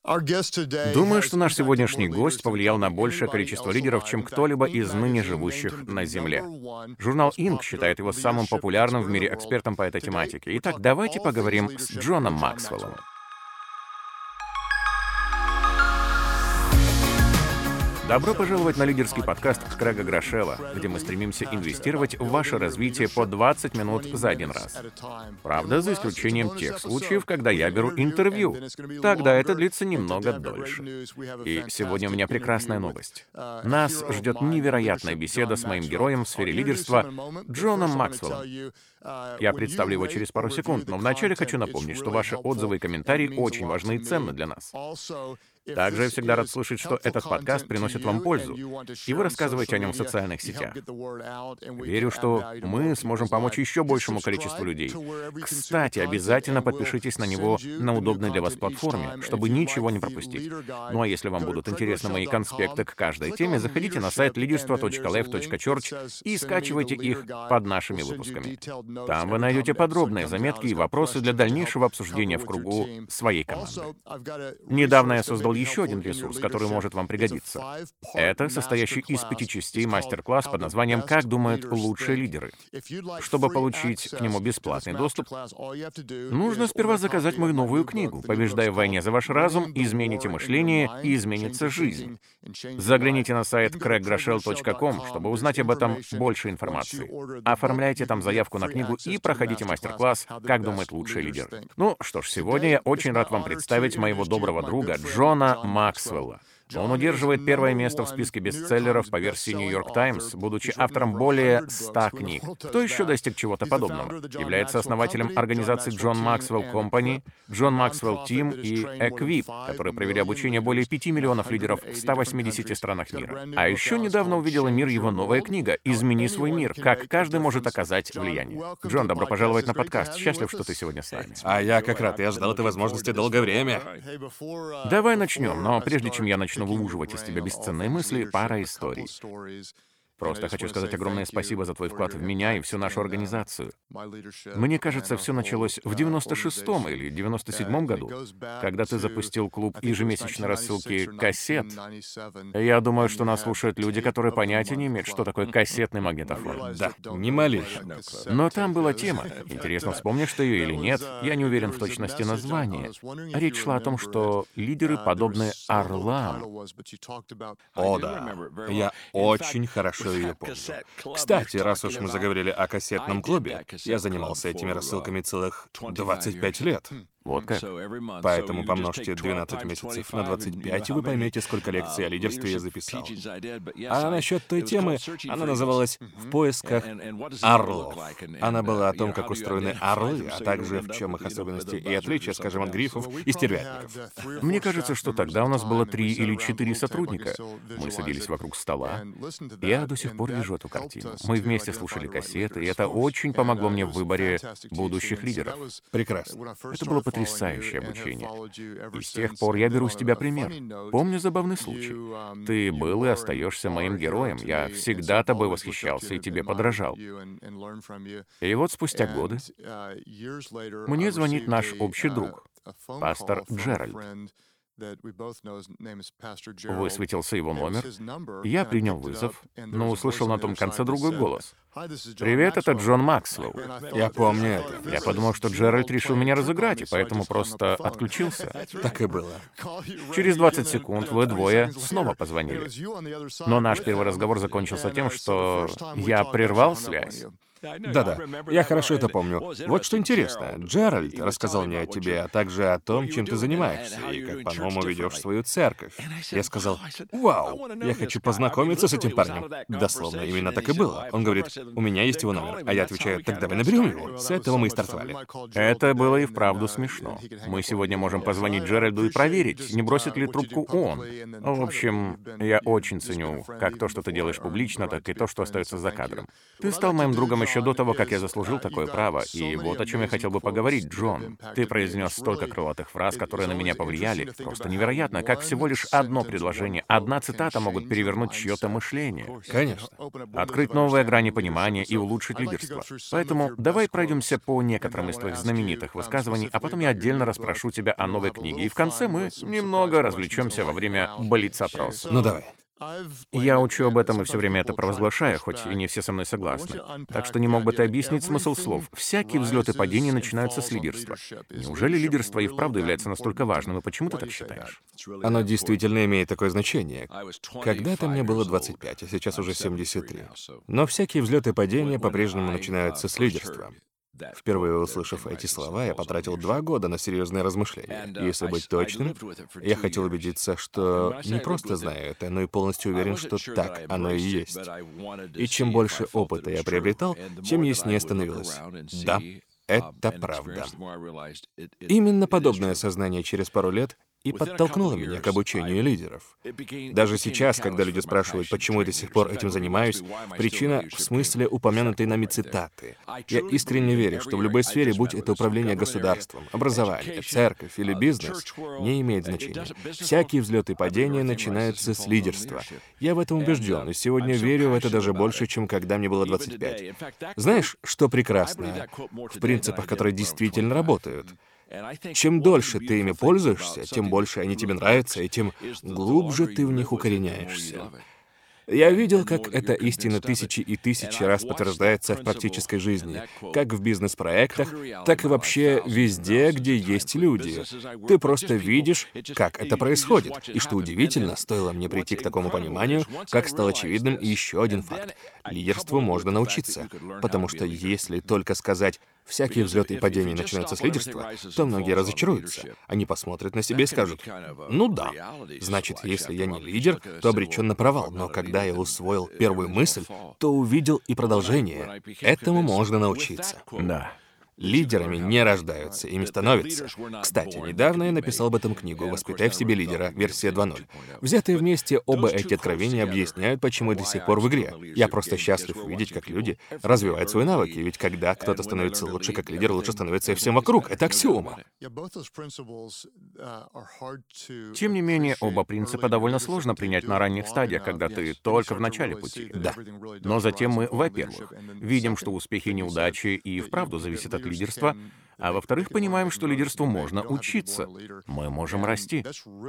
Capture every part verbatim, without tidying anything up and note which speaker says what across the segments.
Speaker 1: Думаю, что наш сегодняшний гость повлиял на большее количество лидеров, чем кто-либо из ныне живущих на Земле. Журнал Inc считает его самым популярным в мире экспертом по этой тематике. Итак, давайте поговорим с Джоном Максвеллом. Добро пожаловать на лидерский подкаст Крэга Грошева, где мы стремимся инвестировать в ваше развитие по двадцать минут за один раз. Правда, за исключением тех случаев, когда я беру интервью. Тогда это длится немного дольше. И сегодня у меня прекрасная новость. Нас ждет невероятная беседа с моим героем в сфере лидерства Джоном Максвеллом. Я представлю его через пару секунд, но вначале хочу напомнить, что ваши отзывы и комментарии очень важны и ценны для нас. Также я всегда рад слышать, что этот подкаст приносит вам пользу, и вы рассказываете о нем в социальных сетях. Верю, что мы сможем помочь еще большему количеству людей. Кстати, обязательно подпишитесь на него на удобной для вас платформе, чтобы ничего не пропустить. Ну а если вам будут интересны мои конспекты к каждой теме, заходите на сайт лидерство точка лайф точка чёрч и скачивайте их под нашими выпусками. Там вы найдете подробные заметки и вопросы для дальнейшего обсуждения в кругу своей команды. Недавно я создал еще один ресурс, который может вам пригодиться. Это состоящий из пяти частей мастер-класс под названием «Как думают лучшие лидеры». Чтобы получить к нему бесплатный доступ, нужно сперва заказать мою новую книгу «Побеждая в войне за ваш разум, измените мышление и изменится жизнь». Загляните на сайт крэг грошел точка ком, чтобы узнать об этом больше информации. Оформляйте там заявку на книгу и проходите мастер-класс «Как думают лучшие лидеры». Ну что ж, сегодня я очень рад вам представить моего доброго друга Джона Максвелла. Он удерживает первое место в списке бестселлеров по версии New York Times, будучи автором более ста книг. Кто еще достиг чего-то подобного? Является основателем организации John Maxwell Company, John Maxwell Team и Equip, которые провели обучение более пяти миллионов лидеров в ста восьмидесяти странах мира. А еще недавно увидела мир его новая книга «Измени свой мир. Как каждый может оказать влияние». Джон, добро пожаловать на подкаст. Счастлив, что ты сегодня с нами.
Speaker 2: А я как рад. Я ждал этой возможности долгое время.
Speaker 1: Давай начнем, но прежде чем я начну выуживать из тебя бесценные мысли, пара историй. Просто хочу сказать огромное спасибо за твой вклад в меня и всю нашу организацию. Мне кажется, все началось в девяносто шестом или девяносто седьмом году, когда ты запустил клуб ежемесячной рассылки кассет. Я думаю, что нас слушают люди, которые понятия не имеют, что такое кассетный магнитофон.
Speaker 2: Да, не малейшего.
Speaker 1: Но там была тема. Интересно, вспомнишь ты ее или нет? Я не уверен в точности названия. Речь шла о том, что лидеры подобны орлам.
Speaker 2: О, да. Я очень хорошо ее помню. Кстати, раз уж мы заговорили о кассетном клубе, я занимался этими рассылками целых двадцать пять лет.
Speaker 1: Вот как.
Speaker 2: Поэтому помножьте двенадцать месяцев на двадцать пять, и вы поймете, сколько лекций о лидерстве я записал. А насчет той темы, она называлась «В поисках орлов». Она была о том, как устроены орлы, а также в чем их особенности и отличия, скажем, от грифов и стервятников.
Speaker 1: Мне кажется, что тогда у нас было три или четыре сотрудника. Мы садились вокруг стола. Я до сих пор вижу эту картину. Мы вместе слушали кассеты, и это очень помогло мне в выборе будущих лидеров.
Speaker 2: Прекрасно.
Speaker 1: Это было потрясающее обучение. И с тех пор я беру с тебя пример. Помню забавный случай. Ты был и остаешься моим героем. Я всегда тобой восхищался и тебе подражал. И вот спустя годы мне звонит наш общий друг, пастор Джеральд. Высветился его номер. Я принял вызов, но услышал на том конце другой голос. «Привет, это Джон Максвелл».
Speaker 2: Я помню это.
Speaker 1: Я подумал, что Джеральд решил меня разыграть, и поэтому просто отключился.
Speaker 2: Так и было.
Speaker 1: Через двадцать секунд вы двое снова позвонили. Но наш первый разговор закончился тем, что я прервал связь.
Speaker 2: Да-да, я хорошо это помню. Вот что интересно, Джеральд рассказал мне о тебе, а также о том, чем ты занимаешься, и как, по-моему, ведешь свою церковь. Я сказал: «Вау, я хочу познакомиться с этим парнем». Дословно, именно так и было. Он говорит: «У меня есть его номер». А я отвечаю: «Так давай наберем его». С этого мы и стартовали.
Speaker 1: Это было и вправду смешно. Мы сегодня можем позвонить Джеральду и проверить, не бросит ли трубку он. В общем, я очень ценю как то, что ты делаешь публично, так и то, что остается за кадром. Ты стал моим другом еще еще до того, как я заслужил такое право. И вот о чем я хотел бы поговорить, Джон. Ты произнес столько крылатых фраз, которые на меня повлияли. Просто невероятно, как всего лишь одно предложение, одна цитата могут перевернуть чье-то мышление.
Speaker 2: Конечно.
Speaker 1: Открыть новые грани понимания и улучшить лидерство. Поэтому давай пройдемся по некоторым из твоих знаменитых высказываний, а потом я отдельно расспрошу тебя о новой книге. И в конце мы немного развлечемся во время блиц-опроса.
Speaker 2: Ну давай.
Speaker 1: Я учу об этом и все время это провозглашаю, хоть и не все со мной согласны. Так что не мог бы ты объяснить смысл слов? Всякие взлеты и падения начинаются с лидерства. Неужели лидерство и вправду является настолько важным, и почему ты так считаешь?
Speaker 2: Оно действительно имеет такое значение. Когда-то мне было двадцать пять, а сейчас уже семьдесят три. Но всякие взлеты и падения по-прежнему начинаются с лидерства. Впервые услышав эти слова, я потратил два года на серьезные размышления. И если быть точным, я хотел убедиться, что не просто знаю это, но и полностью уверен, что так оно и есть. И чем больше опыта я приобретал, тем яснее становилось. Да, это правда. Именно подобное осознание через пару лет и подтолкнуло меня к обучению лидеров. Даже сейчас, когда люди спрашивают, почему я до сих пор этим занимаюсь, причина в смысле упомянутой нами цитаты. Я искренне верю, что в любой сфере, будь это управление государством, образование, церковь или бизнес, не имеет значения. Всякие взлеты и падения начинаются с лидерства. Я в этом убежден, и сегодня верю в это даже больше, чем когда мне было двадцать пять. Знаешь, что прекрасно в принципах, которые действительно работают? Чем дольше ты ими пользуешься, тем больше они тебе нравятся, и тем глубже ты в них укореняешься. Я видел, как эта истина тысячи и тысячи раз подтверждается в практической жизни, как в бизнес-проектах, так и вообще везде, где есть люди. Ты просто видишь, как это происходит. И что удивительно, стоило мне прийти к такому пониманию, как стал очевидным еще один факт. Лидерству можно научиться, потому что если только сказать «всякие взлеты и падения начинаются с лидерства», то многие разочаруются. Они посмотрят на себя и скажут: «Ну да, значит, если я не лидер, то обречен на провал». Но когда я усвоил первую мысль, то увидел и продолжение. Этому можно научиться.
Speaker 1: Да.
Speaker 2: Лидерами не рождаются, ими становятся. Кстати, недавно я написал об этом книгу «Воспитай в себе лидера», версия два ноль. Взятые вместе, оба эти откровения объясняют, почему я до сих пор в игре. Я просто счастлив увидеть, как люди развивают свои навыки, ведь когда кто-то становится лучше как лидер, лучше становится и всем вокруг. Это аксиома.
Speaker 1: Тем не менее, оба принципа довольно сложно принять на ранних стадиях, когда ты только в начале пути.
Speaker 2: Да.
Speaker 1: Но затем мы, во-первых, видим, что успехи и неудачи и вправду зависят от лидерства, а во-вторых, понимаем, что лидерству можно учиться. Мы можем расти.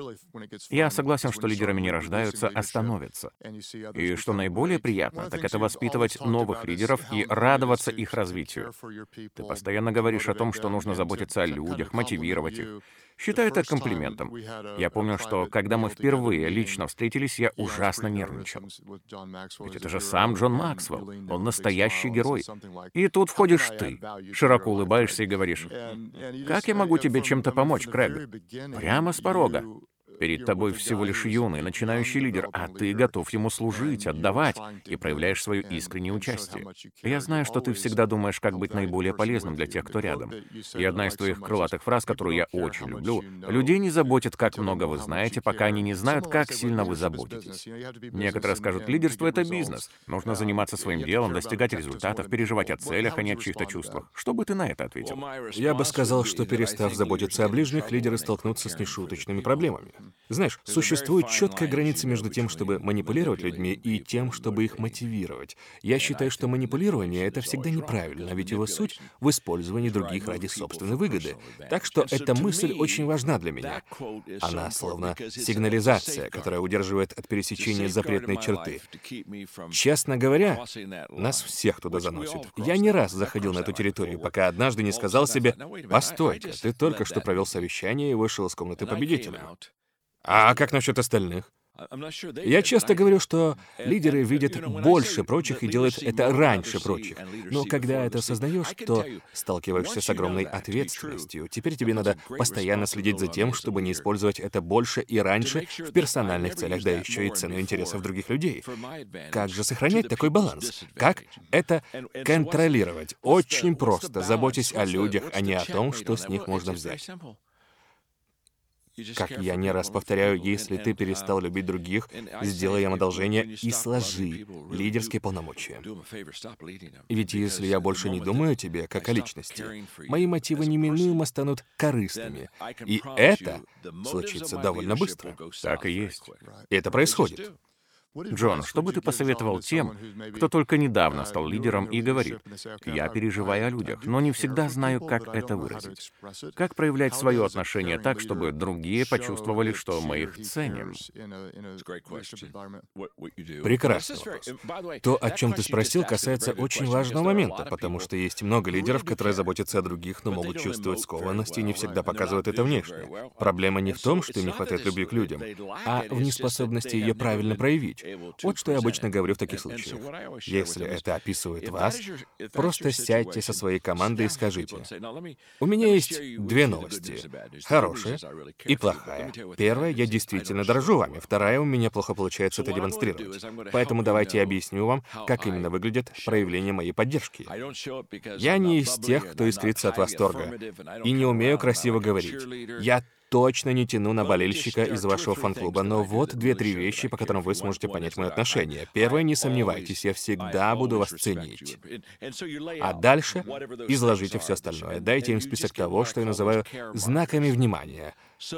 Speaker 1: Я согласен, что лидерами не рождаются, а становятся. И что наиболее приятно, так это воспитывать новых лидеров и радоваться их развитию. Ты постоянно говоришь о том, что нужно заботиться о людях, мотивировать их. Считаю это комплиментом. Я помню, что когда мы впервые лично встретились, я ужасно нервничал. Ведь это же сам Джон Максвелл. Он настоящий герой. И тут входишь ты, широко улыбаешься и говоришь: «Как я могу тебе чем-то помочь, Крэг?» Прямо с порога. Перед тобой всего лишь юный, начинающий лидер, а ты готов ему служить, отдавать, и проявляешь свое искреннее участие. Я знаю, что ты всегда думаешь, как быть наиболее полезным для тех, кто рядом. И одна из твоих крылатых фраз, которую я очень люблю: «Людей не заботит, как много вы знаете, пока они не знают, как сильно вы заботитесь». Некоторые скажут: лидерство — это бизнес. Нужно заниматься своим делом, достигать результатов, переживать о целях, а не о чьих-то чувствах. Что бы ты на это ответил?
Speaker 2: Я бы сказал, что, перестав заботиться о ближних, лидеры столкнутся с нешуточными проблемами. Знаешь, существует четкая граница между тем, чтобы манипулировать людьми, и тем, чтобы их мотивировать. Я считаю, что манипулирование — это всегда неправильно, ведь его суть в использовании других ради собственной выгоды. Так что эта мысль очень важна для меня. Она словно сигнализация, которая удерживает от пересечения запретной черты. Честно говоря, нас всех туда заносит. Я не раз заходил на эту территорию, пока однажды не сказал себе: «Постойте, ты только что провел совещание и вышел из комнаты победителем». А как насчет остальных? Я часто говорю, что лидеры видят больше прочих и делают это раньше прочих. Но когда это осознаешь, то сталкиваешься с огромной ответственностью. Теперь тебе надо постоянно следить за тем, чтобы не использовать это больше и раньше в персональных целях, да еще и цену интересов других людей. Как же сохранять такой баланс? Как это контролировать? Очень просто. Заботьтесь о людях, а не о том, что с них можно взять. Как я не раз повторяю, если ты перестал любить других, сделай им одолжение и сложи лидерские полномочия. Ведь если я больше не думаю о тебе, как о личности, мои мотивы неминуемо станут корыстными. И это случится довольно быстро.
Speaker 1: Так и есть.
Speaker 2: И это происходит.
Speaker 1: Джон, что бы ты посоветовал тем, кто только недавно стал лидером и говорит: «Я переживаю о людях, но не всегда знаю, как это выразить». Как проявлять свое отношение так, чтобы другие почувствовали, что мы их ценим?
Speaker 2: Прекрасный вопрос. То, о чем ты спросил, касается очень важного момента, потому что есть много лидеров, которые заботятся о других, но могут чувствовать скованность и не всегда показывают это внешне. Проблема не в том, что им не хватает любви к людям, а в неспособности ее правильно проявить. Вот что я обычно говорю в таких случаях. Если это описывает вас, просто сядьте со своей командой и скажите: «У меня есть две новости. Хорошая и плохая. Первая, я действительно дорожу вами. Вторая, у меня плохо получается это демонстрировать. Поэтому давайте я объясню вам, как именно выглядит проявление моей поддержки. Я не из тех, кто искрится от восторга, и не умею красиво говорить. Я точно не тяну на болельщика из вашего фан-клуба, но вот две-три вещи, по которым вы сможете понять мое отношение. Первое, не сомневайтесь, я всегда буду вас ценить. А дальше изложите все остальное. Дайте им список того, что я называю знаками внимания.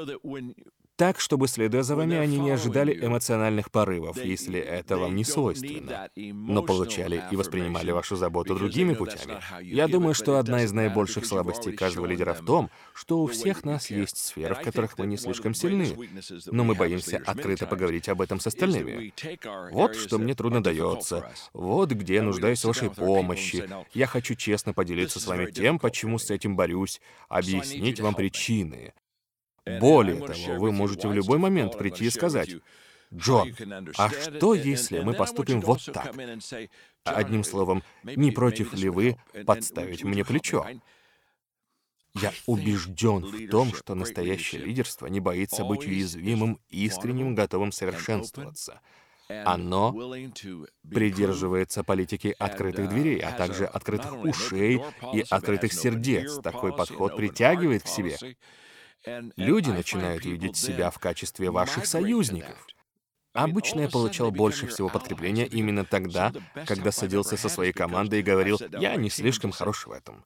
Speaker 2: Так, чтобы, следуя за вами, они не ожидали эмоциональных порывов, если это вам не свойственно, но получали и воспринимали вашу заботу другими путями. Я думаю, что одна из наибольших слабостей каждого лидера в том, что у всех нас есть сферы, в которых мы не слишком сильны, но мы боимся открыто поговорить об этом с остальными. Вот что мне трудно дается, вот где я нуждаюсь в вашей помощи. Я хочу честно поделиться с вами тем, почему с этим борюсь, объяснить вам причины. Более того, вы можете в любой момент прийти и сказать: «Джон, а что, если мы поступим вот так?» Одним словом, не против ли вы подставить мне плечо? Я убежден в том, что настоящее лидерство не боится быть уязвимым, искренним, готовым совершенствоваться. Оно придерживается политики открытых дверей, а также открытых ушей и открытых сердец. Такой подход притягивает к себе. Люди начинают видеть себя в качестве ваших союзников. Обычно я получал больше всего подкрепления именно тогда, когда садился со своей командой и говорил: «Я не слишком хорош в этом.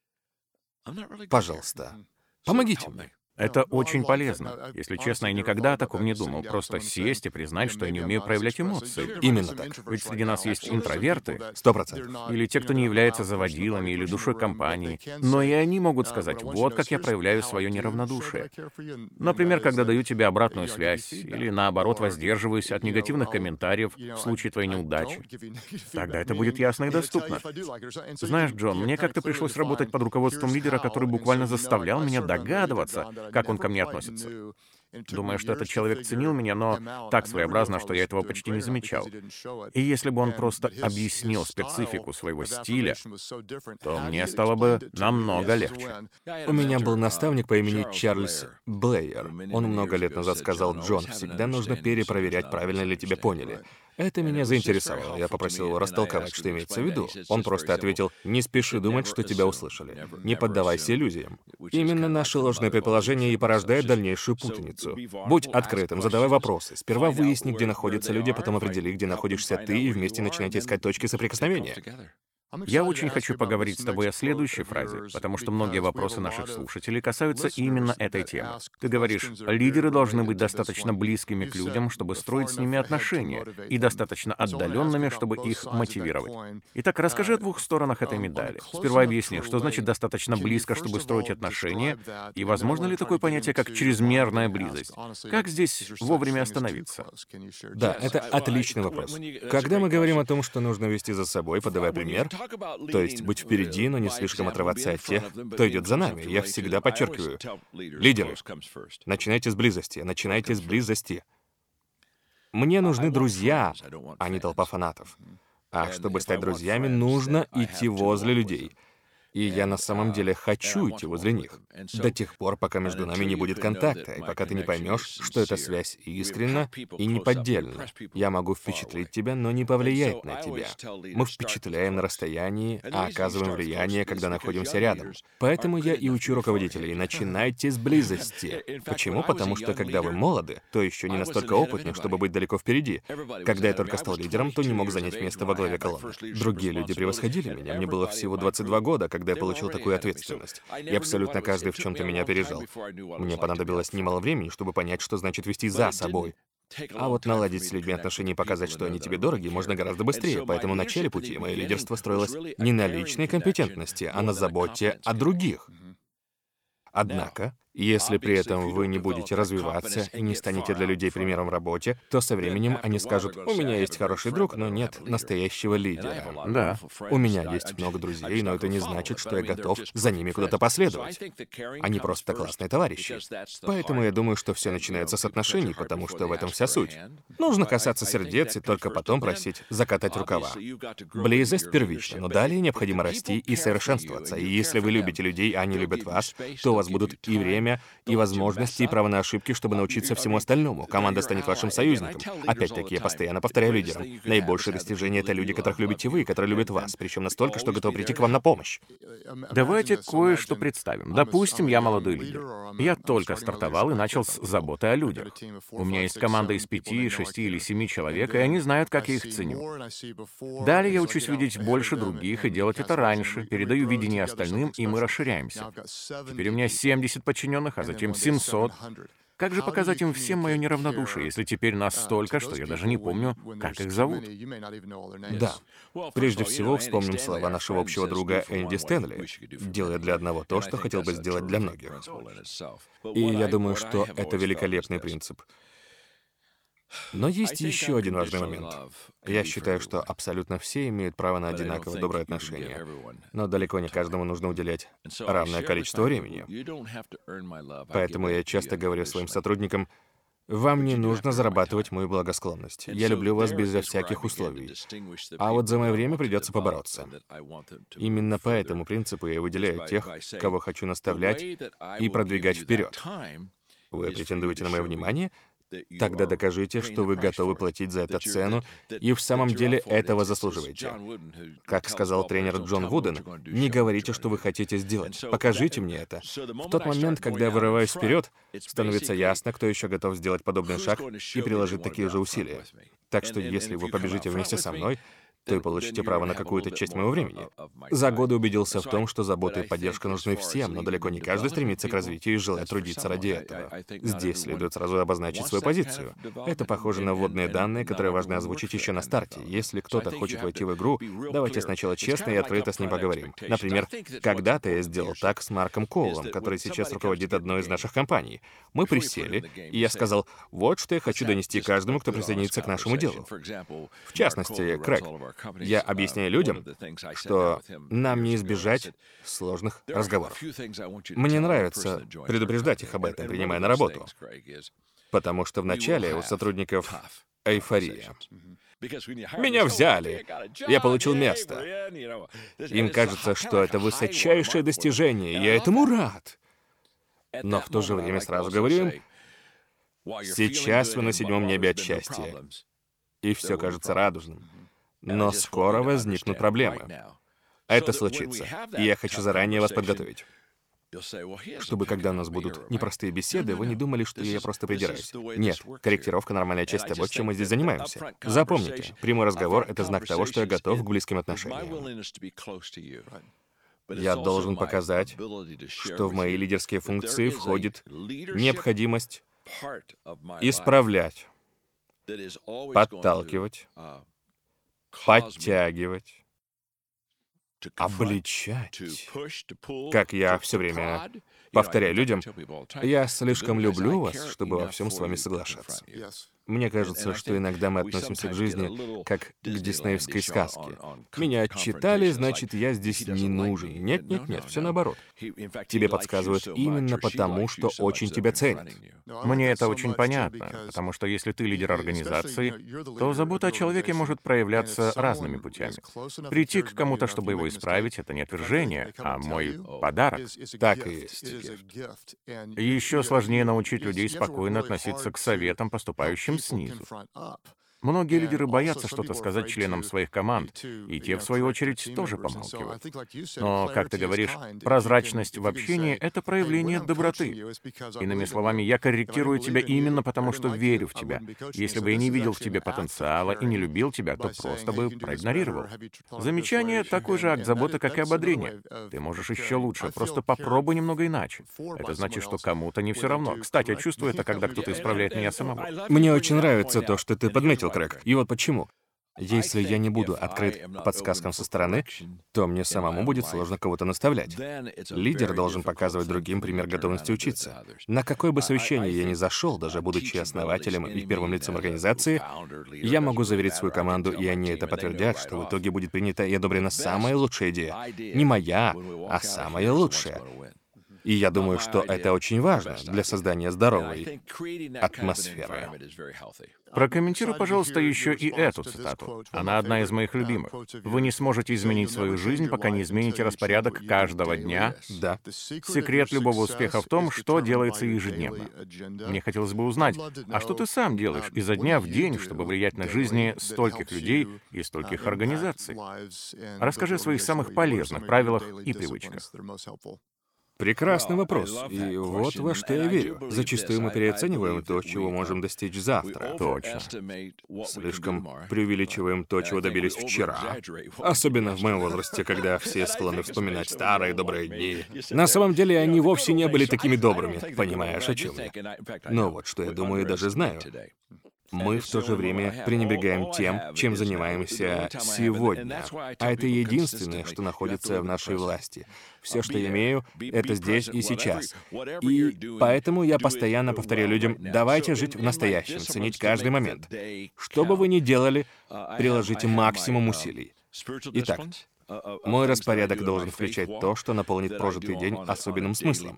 Speaker 2: Пожалуйста, помогите мне».
Speaker 1: Это очень полезно. Если честно, я никогда о таком не думал. Просто сесть и признать, что я не умею проявлять эмоции.
Speaker 2: Именно так.
Speaker 1: Ведь среди нас есть интроверты.
Speaker 2: Сто процентов.
Speaker 1: Или те, кто не является заводилами или душой компании. Но и они могут сказать: «Вот как я проявляю свое неравнодушие». Например, когда даю тебе обратную связь, или наоборот воздерживаюсь от негативных комментариев в случае твоей неудачи. Тогда это будет ясно и доступно. Знаешь, Джон, мне как-то пришлось работать под руководством лидера, который буквально заставлял меня догадываться, как он ко мне относится. Думаю, что этот человек ценил меня, но так своеобразно, что я этого почти не замечал. И если бы он просто объяснил специфику своего стиля, то мне стало бы намного легче.
Speaker 2: У меня был наставник по имени Чарльз Блэйер. Он много лет назад сказал: «Джон, всегда нужно перепроверять, правильно ли тебя поняли». Это меня заинтересовало. Я попросил его растолковать, что имеется в виду. Он просто ответил: «Не спеши думать, что тебя услышали. Не поддавайся иллюзиям». Именно наше ложное предположение и порождает дальнейшую путаницу. Будь открытым, задавай вопросы. Сперва выясни, где находятся люди, потом определи, где находишься ты, и вместе начинайте искать точки соприкосновения.
Speaker 1: Я очень хочу поговорить с тобой о следующей фразе, потому что многие вопросы наших слушателей касаются именно этой темы. Ты говоришь: лидеры должны быть достаточно близкими к людям, чтобы строить с ними отношения, и достаточно отдаленными, чтобы их мотивировать. Итак, расскажи о двух сторонах этой медали. Сперва объясни, что значит достаточно близко, чтобы строить отношения, и возможно ли такое понятие, как чрезмерная близость? Как здесь вовремя остановиться?
Speaker 2: Да, это отличный вопрос. Когда мы говорим о том, что нужно вести за собой, подавая пример, то есть быть впереди, но не слишком отрываться от тех, кто идет за нами. Я всегда подчеркиваю: лидеры, начинайте с близости, начинайте с близости. Мне нужны друзья, а не толпа фанатов. А чтобы стать друзьями, нужно идти возле людей. И я на самом деле хочу идти возле них. До тех пор, пока между нами не будет контакта, и пока ты не поймешь, что эта связь искренна и неподдельна. Я могу впечатлить тебя, но не повлиять на тебя. Мы впечатляем на расстоянии, а оказываем влияние, когда находимся рядом. Поэтому я и учу руководителей: начинайте с близости. Почему? Потому что, когда вы молоды, то еще не настолько опытны, чтобы быть далеко впереди. Когда я только стал лидером, то не мог занять место во главе колонны. Другие люди превосходили меня. Мне было всего двадцать два года, когда я получил такую ответственность. И абсолютно каждый в чем-то меня опережал. Мне понадобилось немало времени, чтобы понять, что значит вести за собой. А вот наладить с людьми отношения и показать, что они тебе дороги, можно гораздо быстрее. Поэтому в начале пути мое лидерство строилось не на личной компетентности, а на заботе о других. Однако, если при этом вы не будете развиваться и не станете для людей примером в работе, то со временем они скажут: «У меня есть хороший друг, но нет настоящего лидера».
Speaker 1: Да.
Speaker 2: У меня есть много друзей, но это не значит, что я готов за ними куда-то последовать. Они просто классные товарищи. Поэтому я думаю, что все начинается с отношений, потому что в этом вся суть. Нужно касаться сердец и только потом просить закатать рукава. Близость первична, но далее необходимо расти и совершенствоваться. И если вы любите людей, а они любят вас, то у вас будут и время, и возможности, и право на ошибки, чтобы научиться всему остальному. Команда станет вашим союзником. Опять-таки, я постоянно повторяю лидерам: наибольшие достижения — это люди, которых любите вы, которые любят вас, причем настолько, что готовы прийти к вам на помощь.
Speaker 1: Давайте кое-что представим. Допустим, я молодой лидер. Я только стартовал и начал с заботы о людях. У меня есть команда из пяти, шести или семи человек, и они знают, как я их ценю. Далее я учусь видеть больше других и делать это раньше, передаю видение остальным, и мы расширяемся. Теперь у меня семьдесят подчиненных, а затем семьсот. Как же показать им всем мое неравнодушие, если теперь нас столько, что я даже не помню, как их зовут?
Speaker 2: Да. Прежде всего, вспомним слова нашего общего друга Энди Стэнли: «Делая для одного то, что хотел бы сделать для многих». И я думаю, что это великолепный принцип. Но есть еще один важный момент. Я считаю, что абсолютно все имеют право на одинаково доброе отношение, но далеко не каждому нужно уделять равное количество времени. Поэтому я часто говорю своим сотрудникам: вам не нужно зарабатывать мою благосклонность. Я люблю вас безо всяких условий. А вот за мое время придется побороться. Именно по этому принципу я выделяю тех, кого хочу наставлять и продвигать вперед. Вы претендуете на мое внимание? Тогда докажите, что вы готовы платить за это цену, и в самом деле этого заслуживаете. Как сказал тренер Джон Вуден: не говорите, что вы хотите сделать, покажите мне это. В тот момент, когда я вырываюсь вперед, становится ясно, кто еще готов сделать подобный шаг и приложить такие же усилия. Так что если вы побежите вместе со мной, то и получите право на какую-то часть моего времени. За годы убедился в том, что забота и поддержка нужны всем, но далеко не каждый стремится к развитию и желает трудиться ради этого. Здесь следует сразу обозначить свою позицию. Это похоже на вводные данные, которые важно озвучить еще на старте. Если кто-то хочет войти в игру, давайте сначала честно и открыто с ним поговорим. Например, когда-то я сделал так с Марком Коулом, который сейчас руководит одной из наших компаний. Мы присели, и я сказал: вот что я хочу донести каждому, кто присоединится к нашему делу. В частности, Крэг. Я объясняю людям, что нам не избежать сложных разговоров. Мне нравится предупреждать их об этом, принимая на работу. Потому что вначале у сотрудников эйфория. Меня взяли, я получил место. Им кажется, что это высочайшее достижение, и я этому рад. Но в то же время сразу говорю им: сейчас вы на седьмом небе от счастья, и все кажется радужным. Но скоро возникнут проблемы. Это случится, и я хочу заранее вас подготовить. Чтобы, когда у нас будут непростые беседы, вы не думали, что я просто придираюсь. Нет, корректировка — нормальная часть того, чем мы здесь занимаемся. Запомните, прямой разговор — это знак того, что я готов к близким отношениям. Я должен показать, что в мои лидерские функции входит необходимость исправлять, подталкивать, подтягивать, обличать. Как я все время повторяю людям: я слишком люблю вас, чтобы во всем с вами соглашаться. Мне кажется, что иногда мы относимся к жизни как к диснеевской сказке. Меня отчитали, значит, я здесь не нужен. Нет, нет, нет, все наоборот. Тебе подсказывают именно потому, что очень тебя ценят.
Speaker 1: Мне это очень понятно, потому что если ты лидер организации, то забота о человеке может проявляться разными путями. Прийти к кому-то, чтобы его исправить, это не отвержение, а мой подарок.
Speaker 2: Так и есть.
Speaker 1: Еще сложнее научить людей спокойно относиться к советам, поступающим снизу. Многие лидеры боятся что-то сказать членам своих команд, и те, в свою очередь, тоже помалкивают. Но, как ты говоришь, прозрачность в общении — это проявление доброты. Иными словами, я корректирую тебя именно потому, что верю в тебя. Если бы я не видел в тебе потенциала и не любил тебя, то просто бы проигнорировал. Замечание — такой же акт заботы, как и ободрение. Ты можешь еще лучше, просто попробуй немного иначе. Это значит, что кому-то не все равно. Кстати, я чувствую это, когда кто-то исправляет меня самого.
Speaker 2: Мне очень нравится то, что ты подметил, Крэг. И вот почему. Если я не буду открыт к подсказкам со стороны, то мне самому будет сложно кого-то наставлять. Лидер должен показывать другим пример готовности учиться. На какое бы совещание я ни зашел, даже будучи основателем и первым лицом организации, я могу заверить свою команду, и они это подтвердят, что в итоге будет принята и одобрена самая лучшая идея. Не моя, а самая лучшая. И я думаю, что это очень важно для создания здоровой атмосферы.
Speaker 1: Прокомментируй, пожалуйста, еще и эту цитату. Она одна из моих любимых. «Вы не сможете изменить свою жизнь, пока не измените распорядок каждого дня».
Speaker 2: Да.
Speaker 1: Секрет любого успеха в том, что делается ежедневно. Мне хотелось бы узнать, а что ты сам делаешь изо дня в день, чтобы влиять на жизни стольких людей и стольких организаций? Расскажи о своих самых полезных правилах и привычках.
Speaker 2: Прекрасный вопрос. И вот во что я верю. Зачастую мы переоцениваем то, чего можем достичь завтра.
Speaker 1: Точно.
Speaker 2: Слишком преувеличиваем то, чего добились вчера. Особенно в моем возрасте, когда все склонны вспоминать старые добрые дни. На самом деле они вовсе не были такими добрыми. Понимаешь, о чем я? Но вот что я думаю и даже знаю. Мы в то же время пренебрегаем тем, чем занимаемся сегодня. А это единственное, что находится в нашей власти. Все, что я имею, это здесь и сейчас. И поэтому я постоянно повторяю людям: давайте жить в настоящем, ценить каждый момент. Что бы вы ни делали, приложите максимум усилий. Итак, мой распорядок должен включать то, что наполнит прожитый день особенным смыслом.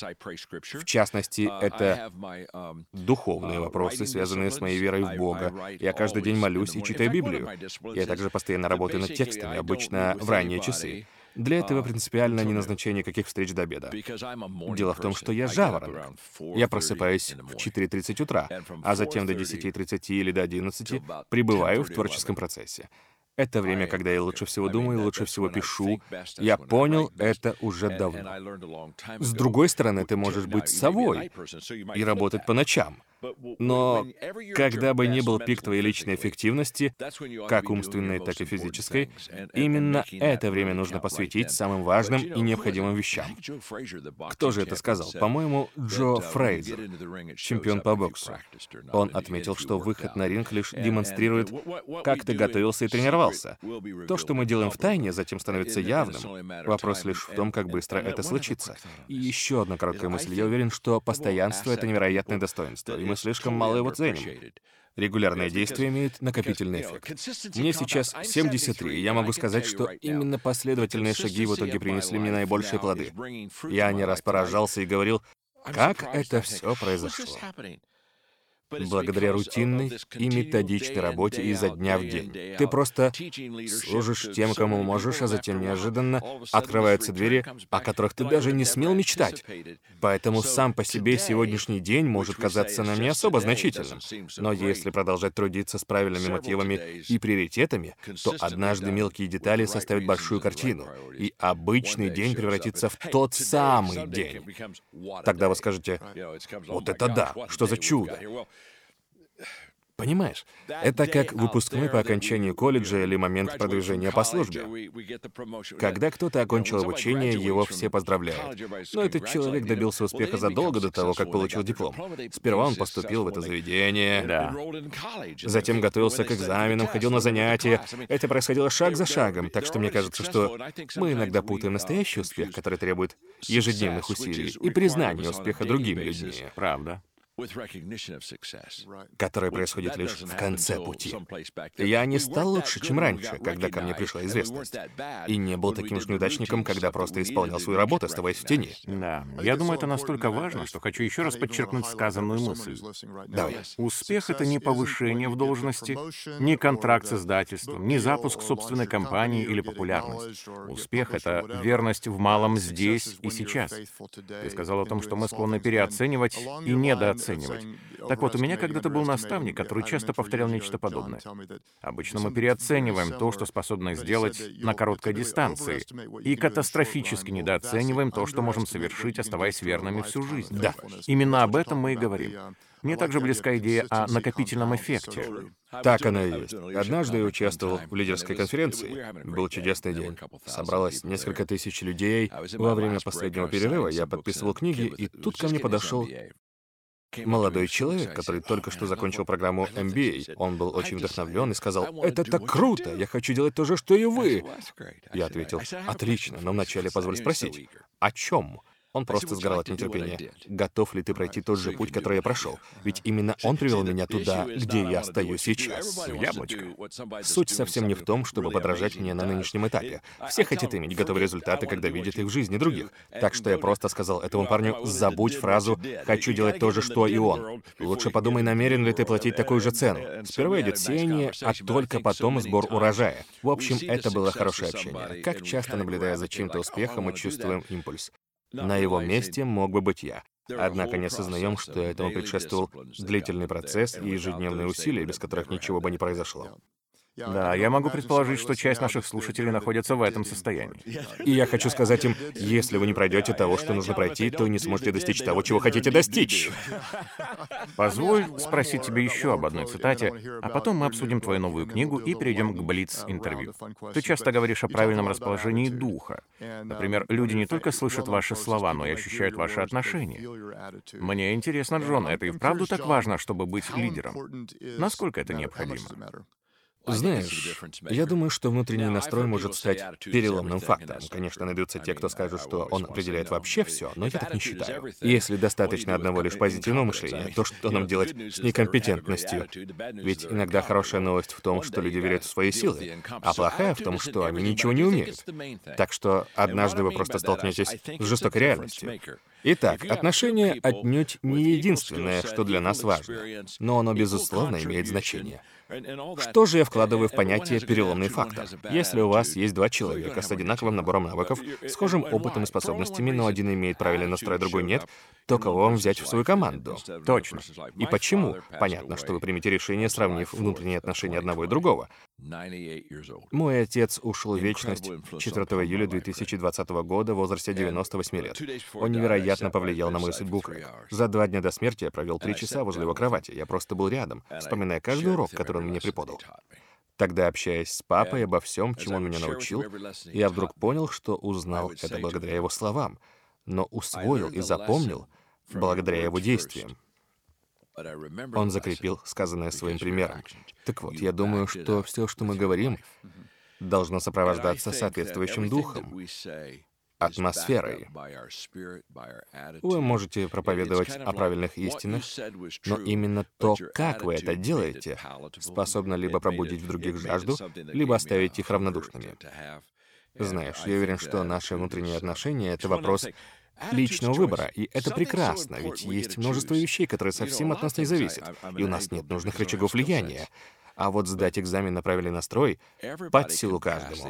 Speaker 2: В частности, это духовные вопросы, связанные с моей верой в Бога. Я каждый день молюсь и читаю Библию. Я также постоянно работаю над текстами, обычно в ранние часы. Для этого принципиально не назначение каких встреч до обеда. Дело в том, что я жаворонок. Я просыпаюсь в четыре тридцать утра, а затем до десяти тридцати или до одиннадцати пребываю в творческом процессе. Это время, когда я лучше всего думаю, лучше всего пишу. Я понял это уже давно. С другой стороны, ты можешь быть совой и работать по ночам. Но когда бы ни был пик твоей личной эффективности, как умственной, так и физической, именно это время нужно посвятить самым важным и необходимым вещам. Кто же это сказал? По-моему, Джо Фрейзер, чемпион по боксу. Он отметил, что выход на ринг лишь демонстрирует, как ты готовился и тренировался. То, что мы делаем в тайне, затем становится явным. Вопрос лишь в том, как быстро это случится. И еще одна короткая мысль. Я уверен, что постоянство — это невероятное достоинство, и мы слишком мало его ценим. Регулярное действие имеет накопительный эффект. Мне сейчас семьдесят три, и я могу сказать, что именно последовательные шаги в итоге принесли мне наибольшие плоды. Я не раз поражался и говорил: как это все произошло? Благодаря рутинной и методичной работе изо дня в день. Ты просто служишь тем, кому можешь, а затем неожиданно открываются двери, о которых ты даже не смел мечтать. Поэтому сам по себе сегодняшний день может казаться нам не особо значительным. Но если продолжать трудиться с правильными мотивами и приоритетами, то однажды мелкие детали составят большую картину, и обычный день превратится в тот самый день. Тогда вы скажете: вот это да, что за чудо! Понимаешь, это как выпускной по окончании колледжа или момент продвижения по службе. Когда кто-то окончил обучение, его все поздравляют. Но этот человек добился успеха задолго до того, как получил диплом. Сперва он поступил в это заведение,
Speaker 1: Да.
Speaker 2: затем готовился к экзаменам, ходил на занятия. Это происходило шаг за шагом, так что мне кажется, что мы иногда путаем настоящий успех, который требует ежедневных усилий, и признание успеха другими людьми.
Speaker 1: Правда.
Speaker 2: которое происходит лишь в конце пути. Я не стал лучше, чем раньше, когда ко мне пришла известность. И не был таким уж неудачником, когда просто исполнял свою работу, оставаясь в тени.
Speaker 1: Да, я думаю, это настолько важно, что хочу еще раз подчеркнуть сказанную мысль.
Speaker 2: Давай.
Speaker 1: Успех — это не повышение в должности, не контракт с издательством, не запуск собственной компании или популярность. Успех — это верность в малом здесь и сейчас. Ты сказал о том, что мы склонны переоценивать и недооценивать. Так вот, у меня когда-то был наставник, который часто повторял нечто подобное. Обычно мы переоцениваем то, что способны сделать на короткой дистанции, и катастрофически недооцениваем то, что можем совершить, оставаясь верными всю жизнь.
Speaker 2: Да.
Speaker 1: Именно об этом мы и говорим. Мне также близка идея о накопительном эффекте.
Speaker 2: Так оно и есть. Однажды я участвовал в лидерской конференции. Был чудесный день. Собралось несколько тысяч людей. Во время последнего перерыва я подписывал книги, и тут ко мне подошел молодой человек, который только что закончил программу эм би эй. Он был очень вдохновлен и сказал: «Это так круто! Я хочу делать то же, что и вы!» Я ответил: «Отлично, но вначале позволь спросить, о чем?» Он просто сгорал от нетерпения. Готов ли ты пройти тот же путь, который я прошел? Ведь именно он привел меня туда, где я стою сейчас.
Speaker 1: Яблочко.
Speaker 2: Суть совсем не в том, чтобы подражать мне на нынешнем этапе. Все хотят иметь готовые результаты, когда видят их в жизни других. Так что я просто сказал этому парню: забудь фразу «хочу делать то же, что и он». Лучше подумай, намерен ли ты платить такую же цену. Сперва идет сеяние, а только потом сбор урожая. В общем, это было хорошее общение. Как часто, наблюдая за чьим-то успехом, мы чувствуем импульс. На его месте мог бы быть я. Однако не осознаем, что этому предшествовал длительный процесс и ежедневные усилия, без которых ничего бы не произошло.
Speaker 1: Да, я могу предположить, что часть наших слушателей находится в этом состоянии.
Speaker 2: И я хочу сказать им: если вы не пройдете того, что нужно пройти, то не сможете достичь того, чего хотите достичь.
Speaker 1: Позволь спросить тебя еще об одной цитате, а потом мы обсудим твою новую книгу и перейдем к блиц-интервью. Ты часто говоришь о правильном расположении духа. Например, люди не только слышат ваши слова, но и ощущают ваши отношения. Мне интересно, Джон, это и вправду так важно, чтобы быть лидером? Насколько это необходимо?
Speaker 2: Знаешь, я думаю, что внутренний настрой может стать переломным фактором. Конечно, найдутся те, кто скажет, что он определяет вообще все, но я так не считаю. Если достаточно одного лишь позитивного мышления, то что нам делать с некомпетентностью? Ведь иногда хорошая новость в том, что люди верят в свои силы, а плохая в том, что они ничего не умеют. Так что однажды вы просто столкнетесь с жестокой реальностью. Итак, отношения отнюдь не единственное, что для нас важно, но оно, безусловно, имеет значение. Что же я вкладываю в понятие «переломный фактор»? Если у вас есть два человека с одинаковым набором навыков, схожим опытом и способностями, но один имеет правильный настрой, а другой нет, то кого вам взять в свою команду?
Speaker 1: Точно.
Speaker 2: И почему? Понятно, что вы примете решение, сравнив внутренние отношения одного и другого. Мой отец ушел в вечность четвёртого июля две тысячи двадцатого года в возрасте девяноста восьми лет. Он невероятно повлиял на мою судьбу. За два дня до смерти я провел три часа возле его кровати. Я просто был рядом, вспоминая каждый урок, который он мне преподал. Тогда, общаясь с папой обо всем, чему он меня научил, я вдруг понял, что узнал это благодаря его словам, но усвоил и запомнил благодаря его действиям. Он закрепил сказанное своим примером. Так вот, я думаю, что все, что мы говорим, должно сопровождаться соответствующим духом, атмосферой. Вы можете проповедовать о правильных истинах, но именно то, как вы это делаете, способно либо пробудить в других жажду, либо оставить их равнодушными. Знаешь, я уверен, что наши внутренние отношения — это вопрос личного выбора, и это прекрасно, ведь есть множество вещей, которые совсем от нас не зависят, и у нас нет нужных рычагов влияния. А вот сдать экзамен на правильный настрой под силу каждому.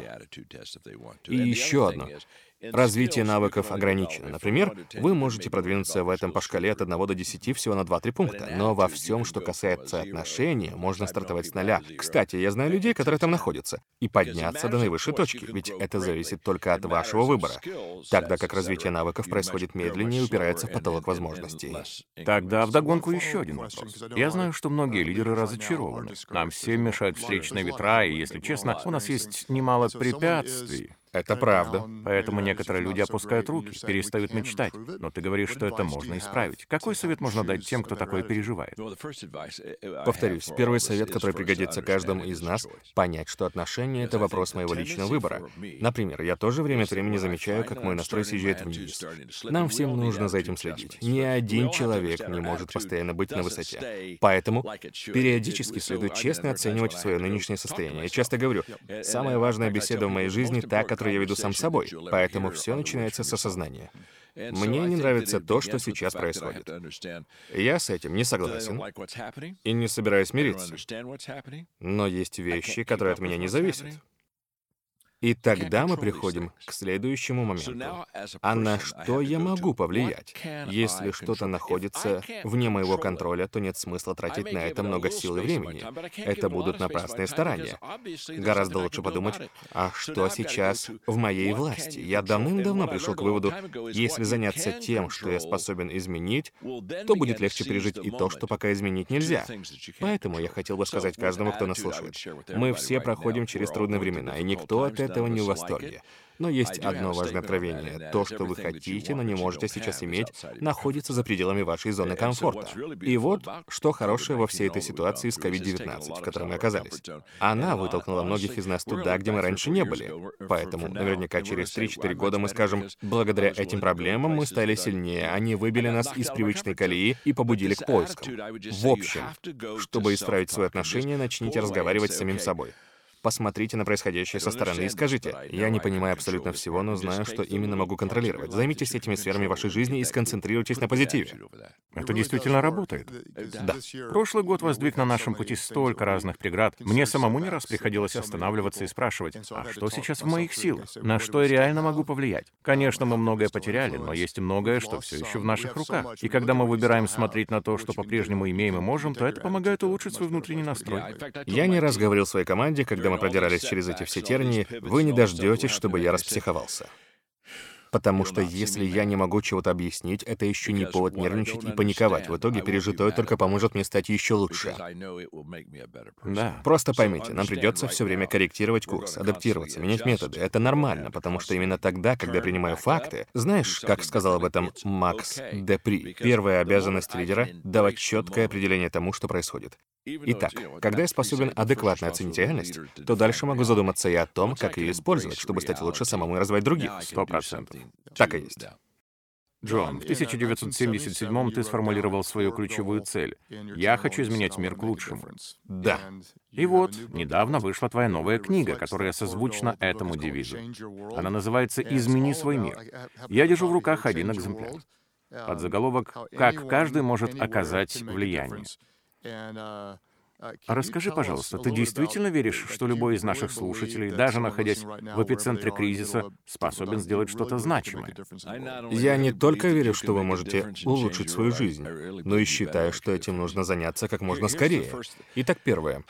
Speaker 2: И еще одно. Развитие навыков ограничено. Например, вы можете продвинуться в этом по шкале от одного до десяти всего на два-три пункта, но во всем, что касается отношений, можно стартовать с нуля. Кстати, я знаю людей, которые там находятся, и подняться до наивысшей точки, ведь это зависит только от вашего выбора, тогда как развитие навыков происходит медленнее и упирается в потолок возможностей.
Speaker 1: Тогда вдогонку еще один вопрос. Я знаю, что многие лидеры разочарованы. Нам всем мешают встречные ветра, и, если честно, у нас есть немало препятствий.
Speaker 2: Это правда.
Speaker 1: Поэтому некоторые люди опускают руки, перестают мечтать. Но ты говоришь, что это можно исправить. Какой совет можно дать тем, кто такое переживает?
Speaker 2: Повторюсь, первый совет, который пригодится каждому из нас, понять, что отношения — это вопрос моего личного выбора. Например, я тоже время от времени замечаю, как мой настрой съезжает вниз. Нам всем нужно за этим следить. Ни один человек не может постоянно быть на высоте. Поэтому периодически следует честно оценивать свое нынешнее состояние. Я часто говорю, самая важная беседа в моей жизни — та, которую я веду сам с собой, поэтому все начинается с осознания. Мне не нравится то, что сейчас происходит. Я с этим не согласен и не собираюсь мириться. Но есть вещи, которые от меня не зависят. И тогда мы приходим к следующему моменту. А на что я могу повлиять? Если что-то находится вне моего контроля, то нет смысла тратить на это много сил и времени. Это будут напрасные старания. Гораздо лучше подумать, а что сейчас в моей власти? Я давным-давно пришел к выводу, если заняться тем, что я способен изменить, то будет легче пережить и то, что пока изменить нельзя. Поэтому я хотел бы сказать каждому, кто нас слушает. Мы все проходим через трудные времена, и никто от этого этого не в восторге. Но есть одно важное откровение. То, что вы хотите, но не можете сейчас иметь, находится за пределами вашей зоны комфорта. И вот, что хорошее во всей этой ситуации с ковид девятнадцать, в которой мы оказались. Она вытолкнула многих из нас туда, где мы раньше не были. Поэтому наверняка через три-четыре года мы скажем, благодаря этим проблемам мы стали сильнее, они выбили нас из привычной колеи и побудили к поискам. В общем, чтобы исправить свои отношения, начните разговаривать с самим собой. Посмотрите на происходящее со стороны и скажите, я не понимаю абсолютно всего, но знаю, что именно могу контролировать. Займитесь этими сферами вашей жизни и сконцентрируйтесь на позитиве.
Speaker 1: Это действительно работает.
Speaker 2: Да.
Speaker 1: Прошлый год воздвиг на нашем пути столько разных преград. Мне самому не раз приходилось останавливаться и спрашивать, а что сейчас в моих силах? На что я реально могу повлиять? Конечно, мы многое потеряли, но есть и многое, что все еще в наших руках. И когда мы выбираем смотреть на то, что по-прежнему имеем и можем, то это помогает улучшить свой внутренний настрой.
Speaker 2: Я не раз говорил своей команде, когда мы продирались через эти все тернии, вы не дождетесь, чтобы я распсиховался. Потому что если я не могу чего-то объяснить, это еще не повод нервничать и паниковать. В итоге пережитое только поможет мне стать еще лучше.
Speaker 1: Да.
Speaker 2: Просто поймите, нам придется все время корректировать курс, адаптироваться, менять методы. Это нормально, потому что именно тогда, когда я принимаю факты, знаешь, как сказал об этом Макс Депри, первая обязанность лидера — давать четкое определение тому, что происходит. Итак, когда я способен адекватно оценить реальность, то дальше могу задуматься и о том, как ее использовать, чтобы стать лучше самому и развивать других.
Speaker 1: Сто процентов.
Speaker 2: Так и есть.
Speaker 1: Джон, в тысяча девятьсот семьдесят седьмом ты сформулировал свою ключевую цель. «Я хочу изменять мир к лучшему».
Speaker 2: Да.
Speaker 1: И вот, недавно вышла твоя новая книга, которая созвучна этому девизу. Она называется «Измени свой мир». Я держу в руках один экземпляр. Под заголовок «Как каждый может оказать влияние». Расскажи, пожалуйста, ты действительно веришь, что любой из наших слушателей, даже находясь в эпицентре кризиса, способен сделать что-то значимое?
Speaker 2: Я не только верю, что вы можете улучшить свою жизнь, но и считаю, что этим нужно заняться как можно скорее. Итак, первое.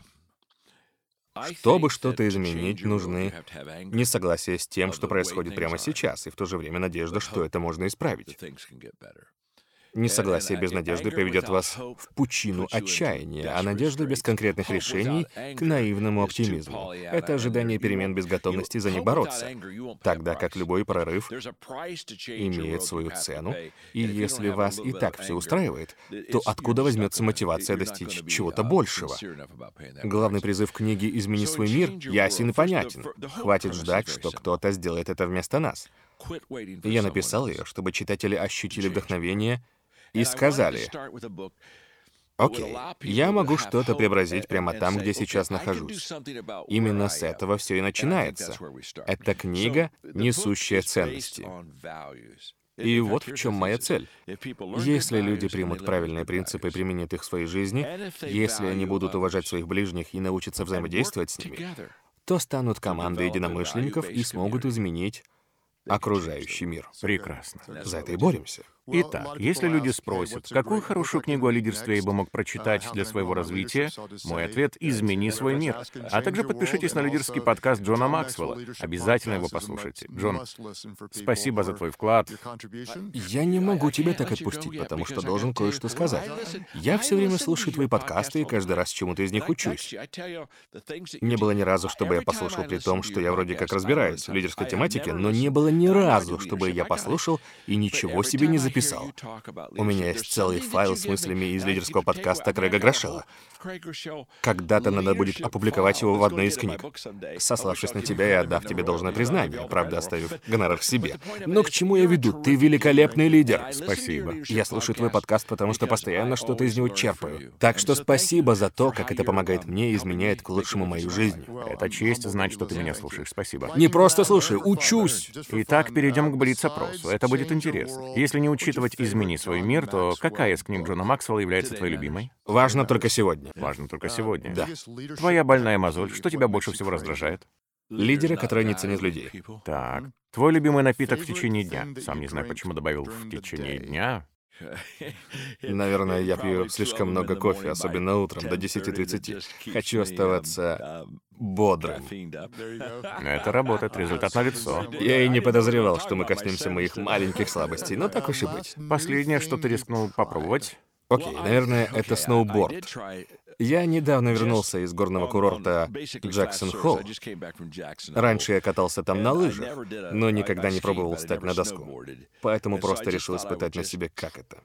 Speaker 2: Чтобы что-то изменить, нужны несогласия с тем, что происходит прямо сейчас, и в то же время надежда, что это можно исправить. Несогласие без надежды приведет вас в пучину отчаяния, а надежда без конкретных решений — к наивному оптимизму. Это ожидание перемен без готовности за них бороться. Тогда как любой прорыв имеет свою цену, и если вас и так все устраивает, то откуда возьмется мотивация достичь чего-то большего? Главный призыв книги «Измени свой мир» ясен и понятен. Хватит ждать, что кто-то сделает это вместо нас. Я написал ее, чтобы читатели ощутили вдохновение и сказали: «Окей, я могу что-то преобразить прямо там, где сейчас нахожусь». Именно с этого все и начинается. Это книга, несущая ценности. И вот в чем моя цель. Если люди примут правильные принципы и применят их в своей жизни, если они будут уважать своих ближних и научатся взаимодействовать с ними, то станут командой единомышленников и смогут изменить окружающий мир.
Speaker 1: Прекрасно.
Speaker 2: За это и боремся.
Speaker 1: Итак, если люди спросят, какую хорошую книгу о лидерстве я бы мог прочитать для своего развития, мой ответ — «Измени свой мир». А также подпишитесь на лидерский подкаст Джона Максвелла. Обязательно его послушайте. Джон, спасибо за твой вклад.
Speaker 2: Я не могу тебя так отпустить, потому что должен кое-что сказать. Я все время слушаю твои подкасты и каждый раз чему-то из них учусь. Не было ни разу, чтобы я послушал при том, что я вроде как разбираюсь в лидерской тематике, но не было ни разу, чтобы я послушал и ничего себе не записал. У меня есть целый файл с мыслями из лидерского подкаста Крэга Грошелла. Когда-то надо будет опубликовать его в одной из книг, сославшись на тебя и отдав тебе должное признание, правда, оставив гонорар себе. Но к чему я веду? Ты великолепный лидер.
Speaker 1: Спасибо.
Speaker 2: Я слушаю твой подкаст, потому что постоянно что-то из него черпаю. Так что спасибо за то, как это помогает мне и изменяет к лучшему мою жизнь.
Speaker 1: Это честь знать, что ты меня слушаешь. Спасибо.
Speaker 2: Не просто слушаю, учусь.
Speaker 1: Итак, перейдем к блиц-опросу. Это будет интересно. Если не учитывать «Измени свой мир», то какая из книг Джона Максвелла является твоей любимой?
Speaker 2: Важно только сегодня.
Speaker 1: Важно только сегодня.
Speaker 2: Да.
Speaker 1: Твоя больная мозоль, что тебя больше всего раздражает?
Speaker 2: Лидеры, которые не ценят людей.
Speaker 1: Так. Твой любимый напиток в течение дня? Сам не знаю, почему добавил «в течение дня».
Speaker 2: Наверное, я пью слишком много кофе, особенно утром, до десяти тридцати. Хочу оставаться бодрым.
Speaker 1: Это работает, результат налицо.
Speaker 2: Я и не подозревал, что мы коснемся моих маленьких слабостей, но так уж и быть.
Speaker 1: Последнее, что ты рискнул попробовать?
Speaker 2: Окей, наверное, это сноуборд. Я недавно вернулся из горного курорта Джексон-Холл. Раньше я катался там на лыжах, но никогда не пробовал встать на доску. Поэтому просто решил испытать на себе, как это.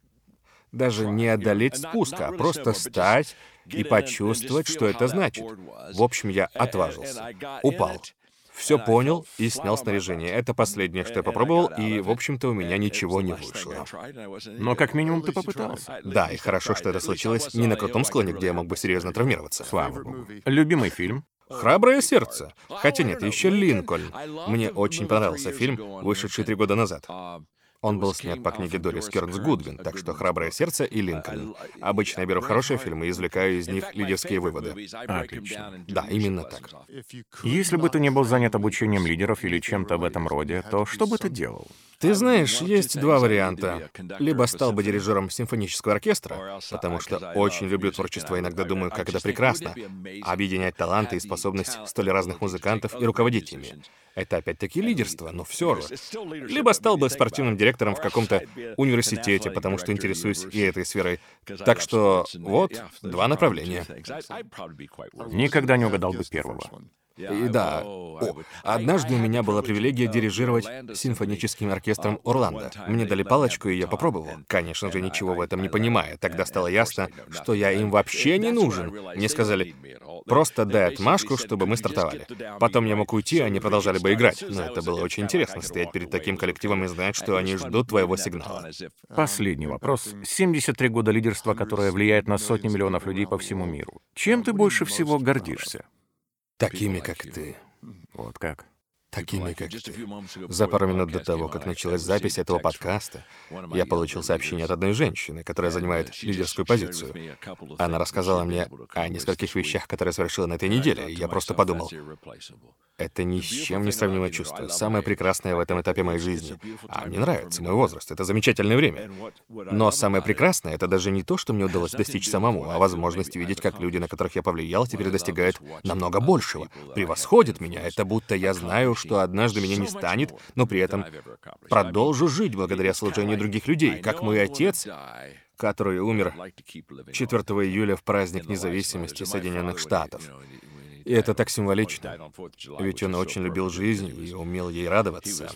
Speaker 2: Даже не одолеть спуск, а просто встать и почувствовать, что это значит. В общем, я отважился. Упал. Все понял и снял снаряжение. Это последнее, что я попробовал, и, в общем-то, у меня ничего не вышло.
Speaker 1: Но как минимум ты попытался.
Speaker 2: Да, и хорошо, что это случилось не на крутом склоне, где я мог бы серьезно травмироваться.
Speaker 1: Слава богу. Любимый фильм?
Speaker 2: «Храброе сердце». Хотя нет, еще «Линкольн». Мне очень понравился фильм, вышедший три года назад. Он был снят по книге Дорис Кернс Гудвин, так что «Храброе сердце» и «Линкольн». Обычно я беру хорошие фильмы и извлекаю из них лидерские выводы.
Speaker 1: Отлично.
Speaker 2: Да, именно так.
Speaker 1: Если бы ты не был занят обучением лидеров или чем-то в этом роде, то что бы ты делал?
Speaker 2: Ты знаешь, есть два варианта. Либо стал бы дирижером симфонического оркестра, потому что очень люблю творчество, иногда думаю, как это прекрасно — объединять таланты и способность столь разных музыкантов и руководить ими. Это опять-таки лидерство, но все же. Либо стал бы спортивным директором в каком-то университете, потому что интересуюсь и этой сферой. Так что вот два направления.
Speaker 1: Никогда не угадал бы первого.
Speaker 2: И да, о, однажды у меня была привилегия дирижировать симфоническим оркестром Орландо. Мне дали палочку, и я попробовал. Конечно же, ничего в этом не понимая. Тогда стало ясно, что я им вообще не нужен. Мне сказали, просто дай отмашку, чтобы мы стартовали. Потом я мог уйти, они продолжали бы играть. Но это было очень интересно, стоять перед таким коллективом и знать, что они ждут твоего сигнала.
Speaker 1: Последний вопрос. семьдесят три года лидерства, которое влияет на сотни миллионов людей по всему миру. Чем ты больше всего гордишься?
Speaker 2: Такими, как ты.
Speaker 1: Вот как.
Speaker 2: Такими, как ты. За пару минут до того, как началась запись этого подкаста, я получил сообщение от одной женщины, которая занимает лидерскую позицию. Она рассказала мне о нескольких вещах, которые совершила на этой неделе, и я просто подумал, это ни с чем не сравнимое чувство. Самое прекрасное в этом этапе моей жизни. А мне нравится мой возраст, это замечательное время. Но самое прекрасное — это даже не то, что мне удалось достичь самому, а возможность видеть, как люди, на которых я повлиял, теперь достигают намного большего, превосходят меня. Это будто я знаю, что однажды меня не станет, но при этом продолжу жить благодаря служению других людей, как мой отец, который умер четвёртого июля в праздник независимости Соединенных Штатов. И это так символично, ведь он очень любил жизнь и умел ей радоваться.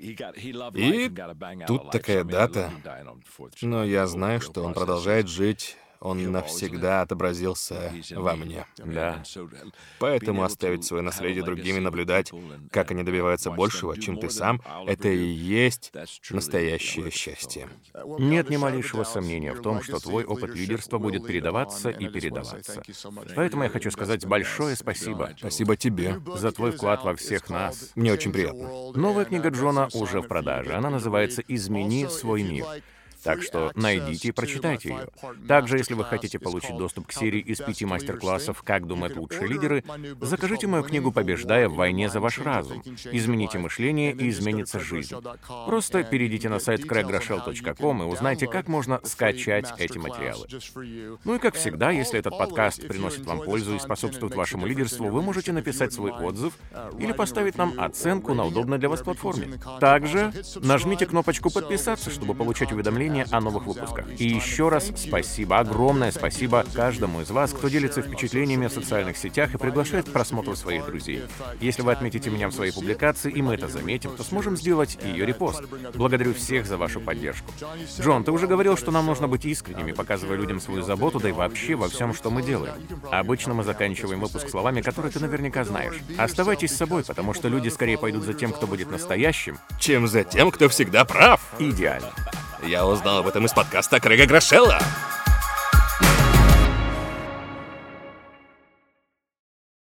Speaker 2: И тут такая дата, но я знаю, что он продолжает жить. Он навсегда отобразился во мне.
Speaker 1: Да.
Speaker 2: Поэтому оставить свое наследие другим и наблюдать, как они добиваются большего, чем ты сам, это и есть настоящее счастье.
Speaker 1: Нет ни малейшего сомнения в том, что твой опыт лидерства будет передаваться и передаваться. Поэтому я хочу сказать большое спасибо.
Speaker 2: Спасибо тебе.
Speaker 1: За твой вклад во всех нас.
Speaker 2: Мне очень приятно.
Speaker 1: Новая книга Джона уже в продаже. Она называется «Измени свой мир». Так что найдите и прочитайте ее. Также, если вы хотите получить доступ к серии из пяти мастер-классов «Как думают лучшие лидеры», закажите мою книгу «Побеждая в войне за ваш разум». Измените мышление, и изменится жизнь. Просто перейдите на сайт крэг грошел точка ком и узнайте, как можно скачать эти материалы. Ну и как всегда, если этот подкаст приносит вам пользу и способствует вашему лидерству, вы можете написать свой отзыв или поставить нам оценку на удобной для вас платформе. Также нажмите кнопочку «Подписаться», чтобы получать уведомления о новых выпусках. И еще раз спасибо, огромное спасибо каждому из вас, кто делится впечатлениями в социальных сетях и приглашает к просмотру своих друзей. Если вы отметите меня в своей публикации, и мы это заметим, то сможем сделать ее репост. Благодарю всех за вашу поддержку. Джон, ты уже говорил, что нам нужно быть искренними, показывая людям свою заботу, да и вообще во всем, что мы делаем. Обычно мы заканчиваем выпуск словами, которые ты наверняка знаешь. Оставайтесь с собой, потому что люди скорее пойдут за тем, кто будет настоящим,
Speaker 2: чем за тем, кто всегда прав.
Speaker 1: Идеально.
Speaker 2: Я узнал об этом из подкаста Крэга Грошелла.